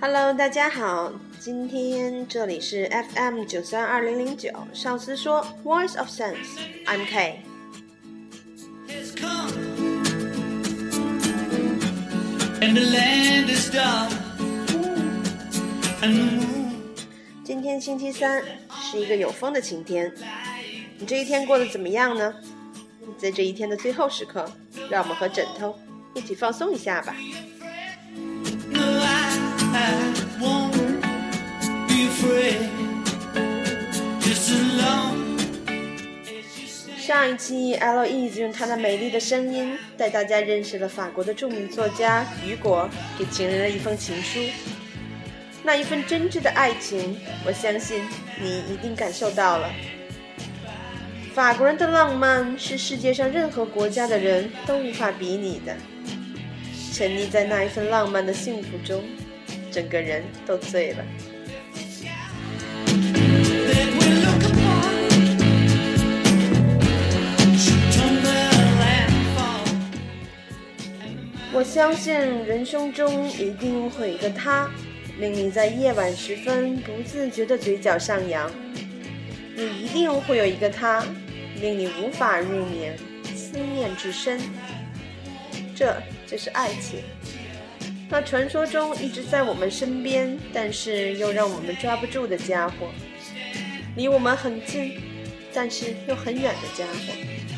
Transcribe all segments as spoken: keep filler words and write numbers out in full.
Hello， 大家好，今天这里是 F M 九三二零零九，上司说 Voice of Sense，I'm K。今天星期三，是一个有风的晴天。你这一天过得怎么样呢？在这一天的最后时刻，让我们和枕头一起放松一下吧。上一期 Eloise 用她那美丽的声音带大家认识了法国的著名作家雨果给情人的一封情书。那一份真挚的爱情，我相信你一定感受到了。法国人的浪漫是世界上任何国家的人都无法比拟的。沉溺在那一份浪漫的幸福中，整个人都醉了。我相信人生中一定会有一个他，令你在夜晚时分不自觉的嘴角上扬。也一定会有一个他，令你无法入眠，思念至深。这就是爱情，那传说中一直在我们身边，但是又让我们抓不住的家伙，离我们很近，但是又很远的家伙。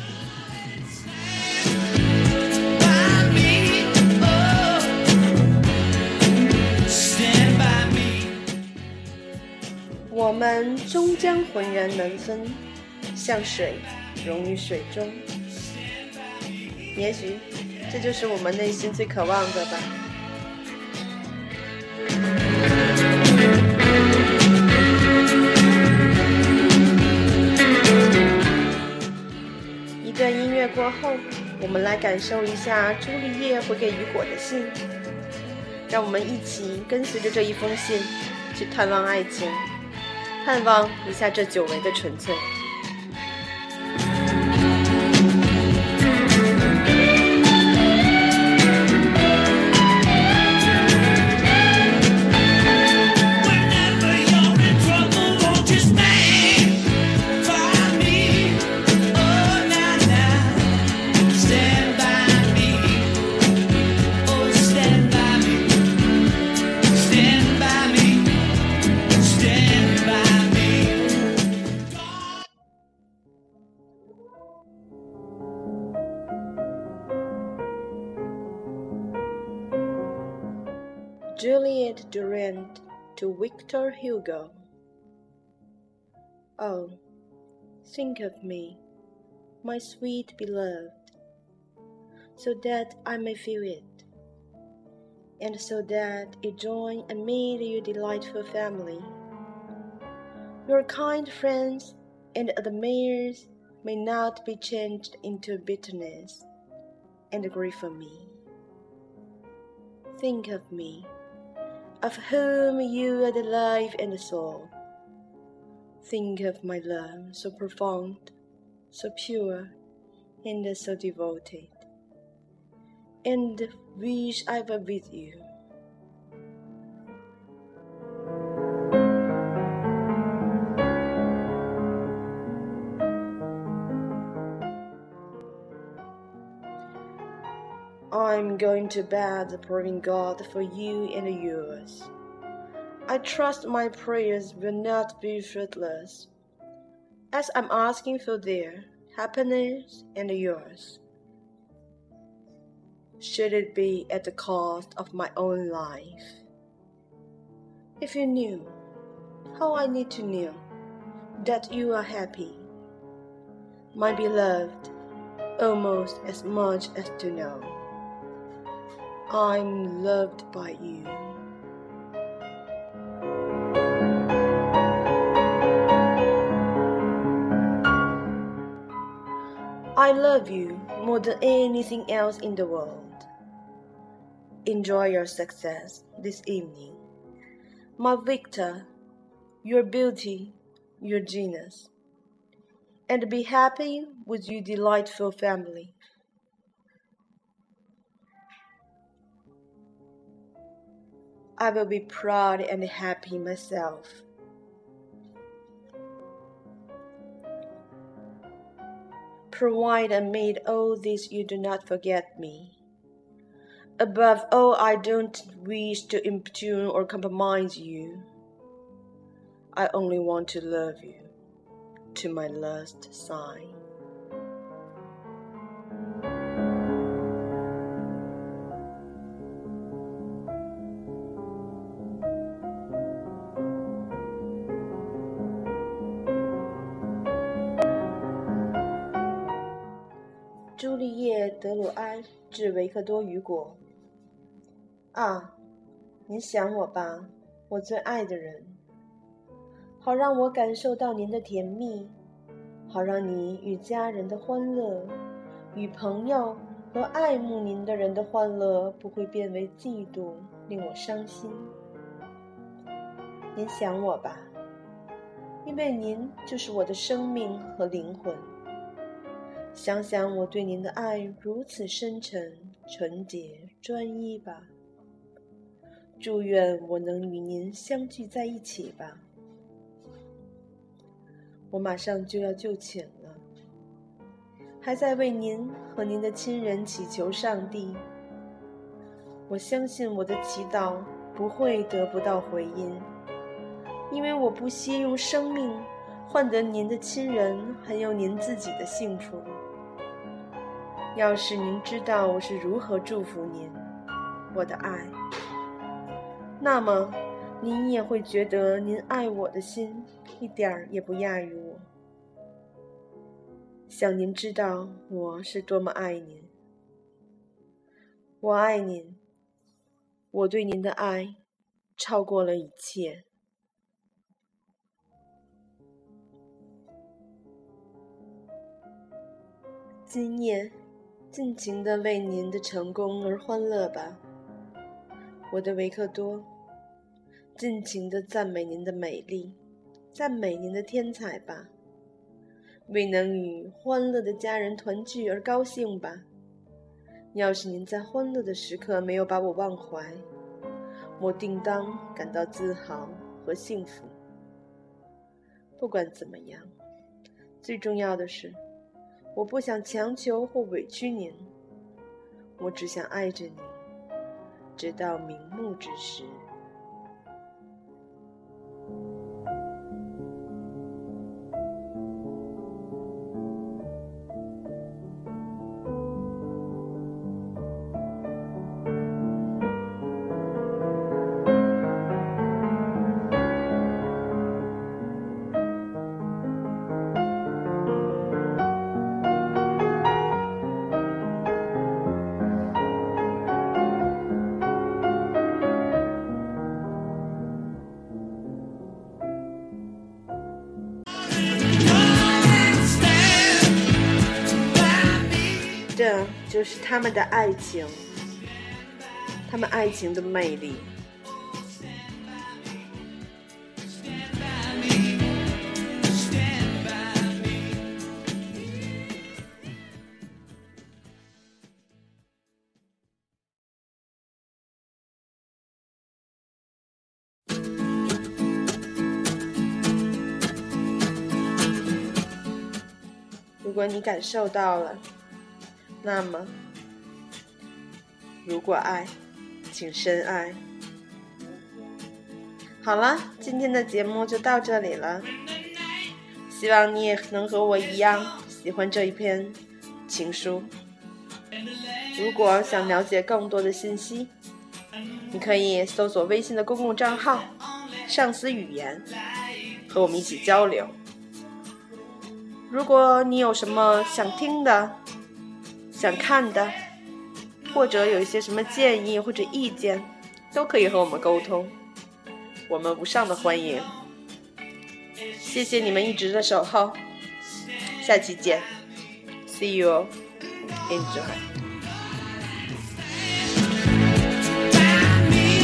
我们终将浑然难分，像水溶于水中。也许这就是我们内心最渴望的吧。一段音乐过后，我们来感受一下朱丽叶回给雨果的信。让我们一起跟随着这一封信，去探望爱情，探望一下这久违的纯粹。Juliette Durand to Victor Hugo. Oh, think of me, my sweet beloved, so that I may feel it, and so that you join amid your delightful family. Your kind friends and admirers may not be changed into bitterness and grief for me. Think of me, of whom you are the life and the soul. Think of my love, so profound, so pure, and so devoted, and wish I were with you. I'm going to bed praying God for you and yours. I trust my prayers will not be fruitless, as I'm asking for their happiness and yours. Should it be at the cost of my own life? If you knew how I need to know that you are happy, my beloved, almost as much as to know I'm loved by you. I love you more than anything else in the world. Enjoy your success this evening, my Victor, your beauty, your genius, and be happy with your delightful family. I will be proud and happy myself. Provide amid all this you do not forget me. Above all, I don't wish to impugn or compromise you. I only want to love you to my last sigh.朱丽叶·德鲁埃致维克多·雨果。啊，您想我吧，我最爱的人，好让我感受到您的甜蜜，好让你与家人的欢乐，与朋友和爱慕您的人的欢乐不会变为嫉妒，令我伤心。您想我吧，因为您就是我的生命和灵魂。想想我对您的爱如此深沉、纯洁、专一吧。祝愿我能与您相聚在一起吧。我马上就要就寝了，还在为您和您的亲人祈求上帝。我相信我的祈祷不会得不到回音，因为我不惜用生命换得您的亲人还有您自己的幸福。要是您知道我是如何祝福您，我的爱，那么您也会觉得您爱我的心一点儿也不亚于我。想您知道我是多么爱您。我爱您，我对您的爱超过了一切。今夜尽情地为您的成功而欢乐吧，我的维克多，尽情地赞美您的美丽，赞美您的天才吧，为能与欢乐的家人团聚而高兴吧。要是您在欢乐的时刻没有把我忘怀，我定当感到自豪和幸福。不管怎么样，最重要的是我不想强求或委屈您，我只想爱着您，直到瞑目之时。这就是他们的爱情，他们爱情的魅力。如果你感受到了，那么如果爱，请深爱。好了，今天的节目就到这里了，希望你也能和我一样喜欢这一篇情书。如果想了解更多的信息，你可以搜索微信的公共账号上司语言，和我们一起交流。如果你有什么想听的、想看的，或者有一些什么建议或者意见，都可以和我们沟通，我们无上的欢迎。谢谢你们一直的守候，下期见 See you, enjoy。